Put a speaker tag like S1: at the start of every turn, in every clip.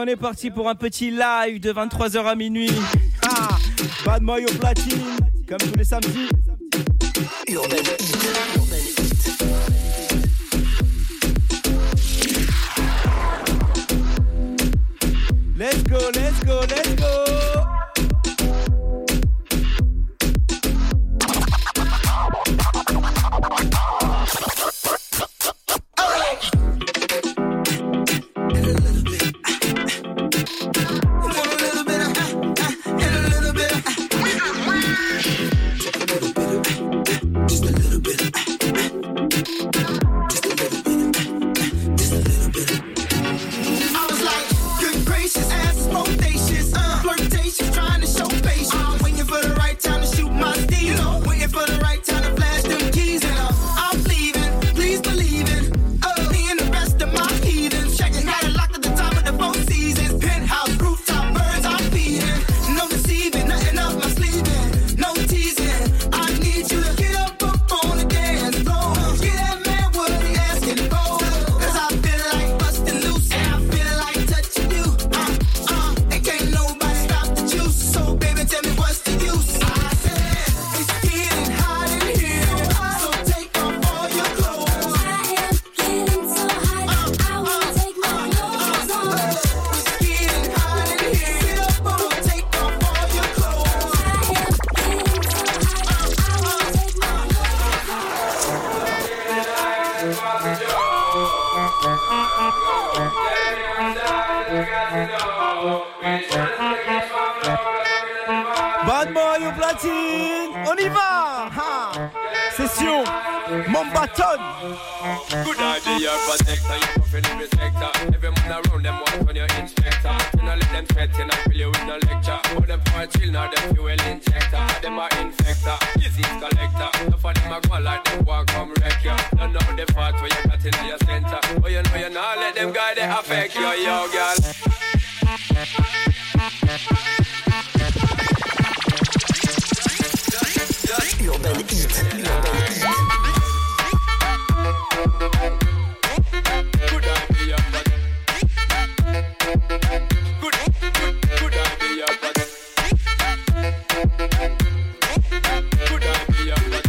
S1: on est parti pour un petit live de 23h à minuit. Bad Boy au platine, comme tous les samedis.
S2: Urban Heat.
S1: Let's go, let's go, let's go. Bad Boy au platine, on y va. Session Mombaton.
S3: Good idea, protector, you fulfill every sector. Every man around them want on your inspector. You know let them threaten, I feel you with no lecture. But them for chill now, them fuel injector. Them are infector, disease collector. No for them a go like them walk come wreck ya. Don't know the fault where you got in your center. But you know you not let them guy they affect you, yo girl.
S2: Urban Heat.
S3: Good idea, but good idea, but good idea, but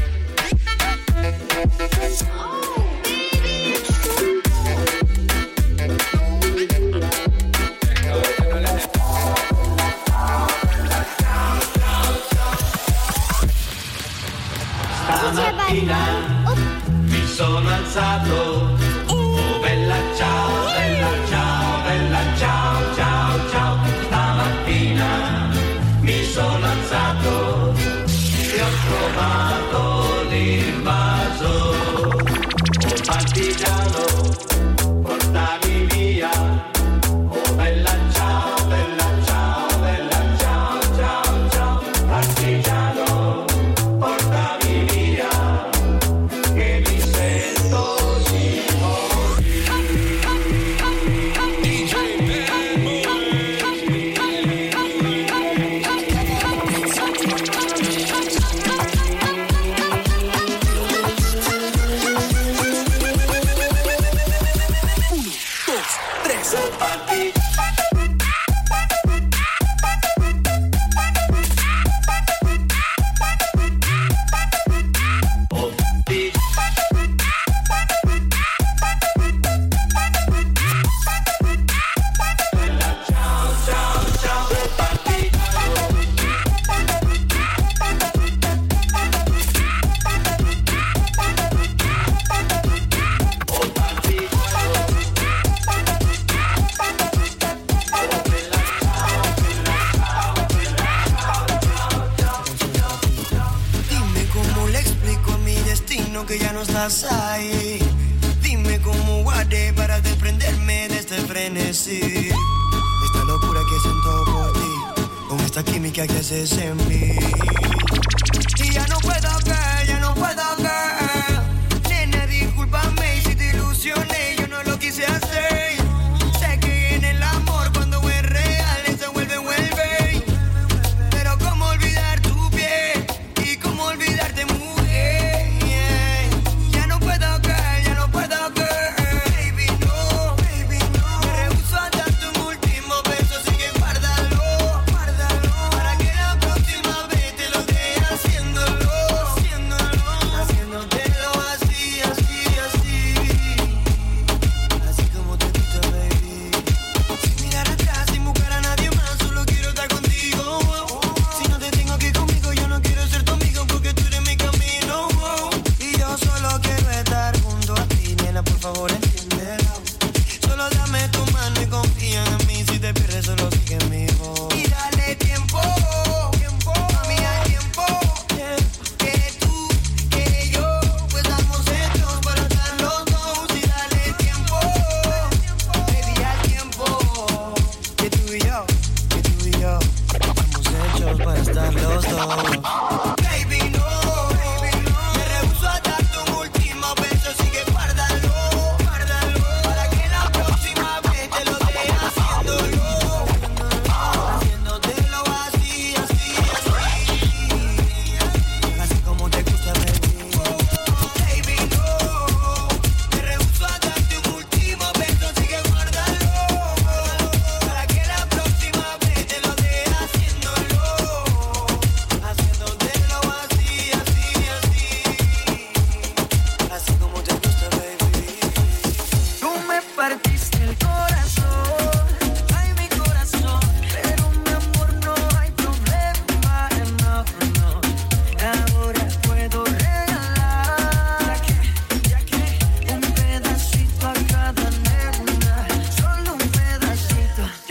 S4: Stamattina mi sono alzato, oh bella ciao, bella ciao, bella ciao, ciao, ciao. Stamattina mi sono alzato e ho trovato l'invaso, oh partigiano, portami via, oh bella ciao, bella ciao, bella ciao, ciao, ciao, partigiano. Portami via, che mi sento di morire.
S5: Que ya no estás ahí. Dime cómo guardé para desprenderme de este frenesí. Esta locura que siento por ti, con esta química que haces en mí. Y ya no puedo caer, ya no puedo caer. Nena, discúlpame si te ilusioné, yo no lo quise hacer. Sé que en el amor cuando es real, eso vuelve. Pero cómo olvidar tu piel y cómo olvidarte mujer. Baby, no. Me rehuso a darte un último beso.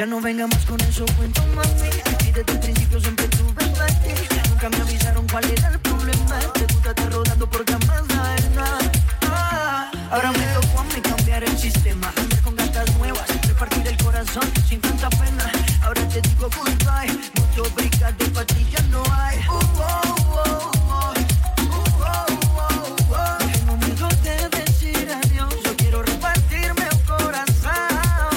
S5: Ya no venga más con esos cuentos, mami. Y desde el principio siempre tuve para ti. Nunca me avisaron cuál era el problema. Te gusta estar rodando por camas arenas. Ahora me tocó a mí cambiar el sistema. Andar con gatas nuevas, repartir el corazón sin tanta pena. Ahora te digo goodbye. Mucho bricas de pastillas no hay. No tengo miedo de decir adiós. Yo quiero repartirme el corazón.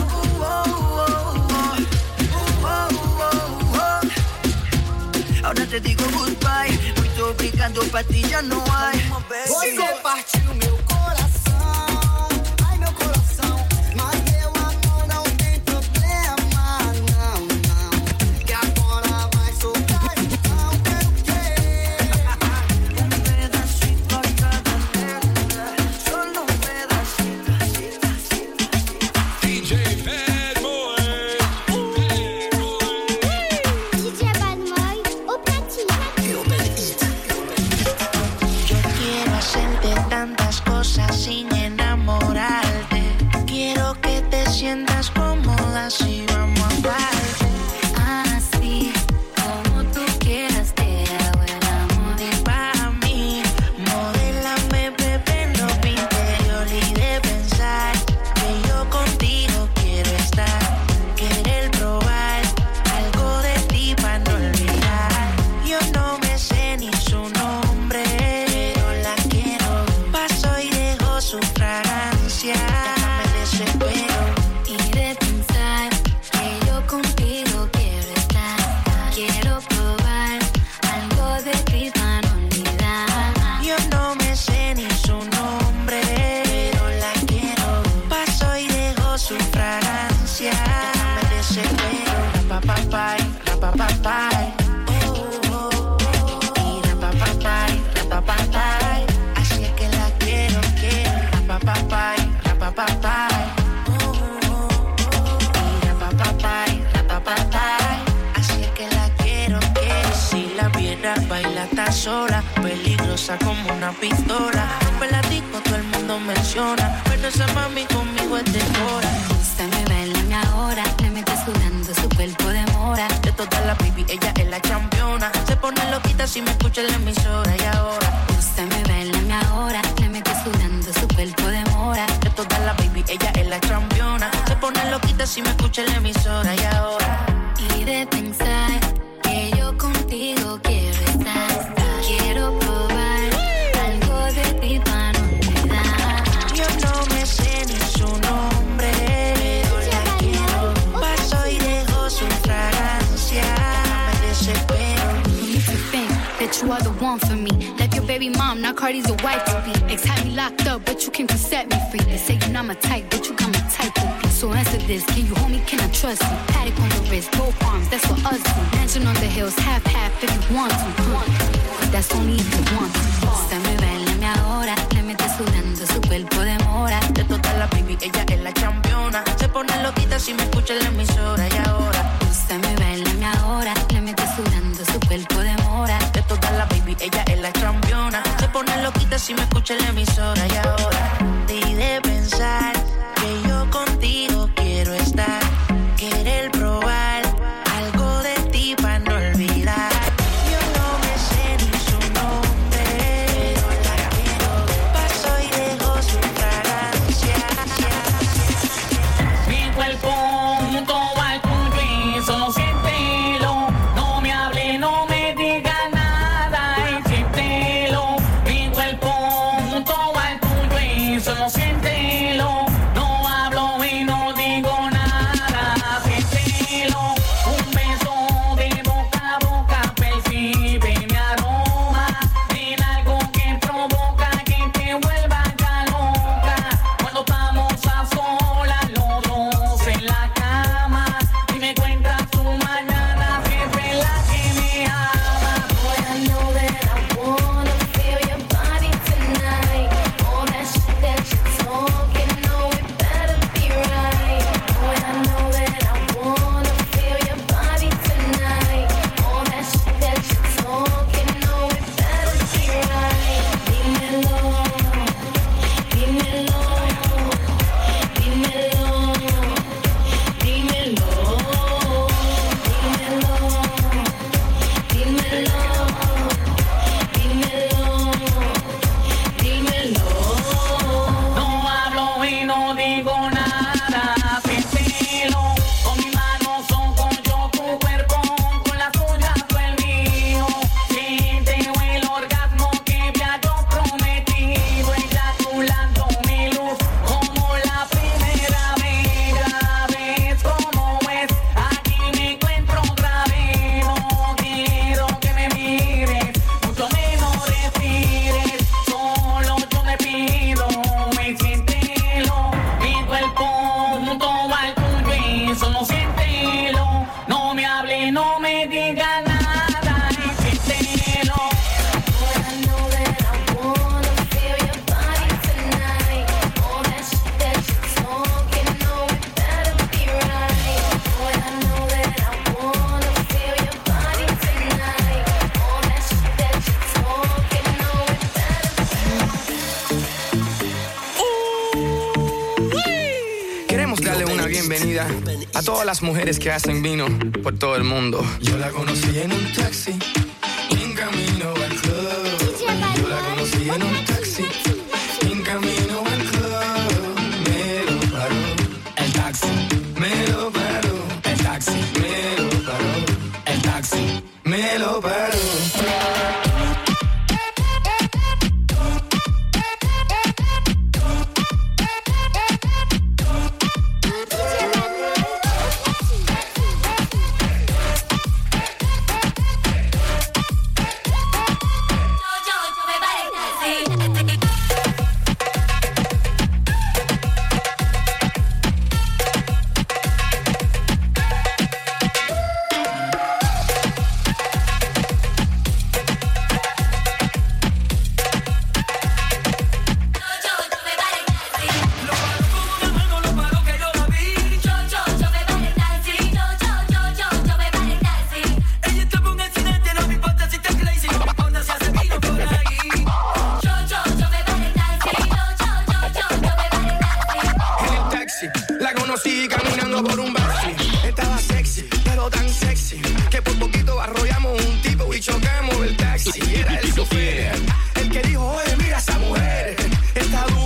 S5: Ahora te digo goodbye. Mucho bricas de pastillas no hay.
S6: Você partiu meu coração, ai meu coração. Mas meu amor não tem problema, não, não. Que agora vai soltar, então quero querer.
S5: Un pedacito a cada letra, solo un pedacito.
S3: DJ Bad Boy.
S7: DJ Bad Boy, au platine.
S2: Urban Heat.
S8: Yo quiero hacerte tantas cosas sin enamorarte. Quiero que te sientas cómoda si vamos a parte.
S9: Así como tú quieras, te hago el amor.
S8: Y para mí, modélame, bebé, no me interior y de pensar que yo contigo quiero estar. Querer probar algo de ti para no olvidar. Yo no me sé ni su nombre, pero la quiero. Paso y dejo su fragancia. Me desespero.
S9: Y de pensar que yo contigo quiero estar. Quiero probar algo de ti para no olvidar.
S8: Yo no me sé ni su nombre, pero la quiero. Paso y dejo su fragancia. Me desespero. Rapapapay, rapapapay. Y rapapapay, rapapapay. Así es que la quiero, quiero. Rapapapay, rapapapay. Y rapapapay, rapapapay. Así es que la quiero, quiero. Si la viera baila tan sola, peligrosa como una pistola. Rompe la disco, todo el mundo menciona, pero esa mami conmigo es de hora.
S9: Úsame, bailame ahora. Le metes sudando, su cuerpo demora.
S8: De todas las baby, ella es la campeona. Se pone loquita si me escucha en la emisora. Y ahora,
S9: Úsame, bailame ahora. Le metes sudando, su cuerpo demora.
S8: de todas las baby, ella es la campeona. Se pone loquita si me escucha en la emisora. Y ahora,
S9: Y de pensar que yo contigo quiero estar. Quiero probar algo de ti para no olvidar.
S8: yo no me sé ni su nombre, pero la quiero. Paso y dejo su fragancia. Me desespero.
S9: You need to think that you are the one for me. Left your baby mom, now Cardi's your wife to be. Ex had me locked up, but you came to set me free. They say you're not my type, but you got my type to be. So answer this, can you hold me, can I trust you? Paddock on the wrist, both arms, that's what us do. Mansion on the hills, half if you want to. That's only if you want to. Úsame, bailame ahora. Le metes sudando, su cuerpo demora.
S8: De todas las baby, ella es la campeona. Se pone loquita si me escucha en la emisora. Y ahora,
S9: Úsame, bailame ahora. Le metes sudando, su cuerpo demora.
S8: de todas las baby, ella es la campeona. Se pone loquita si me escucha en la emisora. Y ahora, y de pensar que yo contigo quiero estar. Querer probar algo de ti para no olvidar. Yo no me sé ni su nombre, pero la quiero. Paso y dejo su fragancia.
S4: Mi cuerpo junto al tuyo y solo siéntelo. No me hable, no me diga nada y siéntelo. Mi cuerpo junto al tuyo
S10: día a todas las mujeres que hacen vino por todo el mundo. Yo la conocí en un taxi, en camino al club. Yo la conocí en un taxi, en camino al club. Me lo paró el taxi, me lo paró el taxi, me lo paró el taxi, me lo paró. Chocamos el taxi, era el chofer, el que dijo, oye, mira esa mujer, está dura.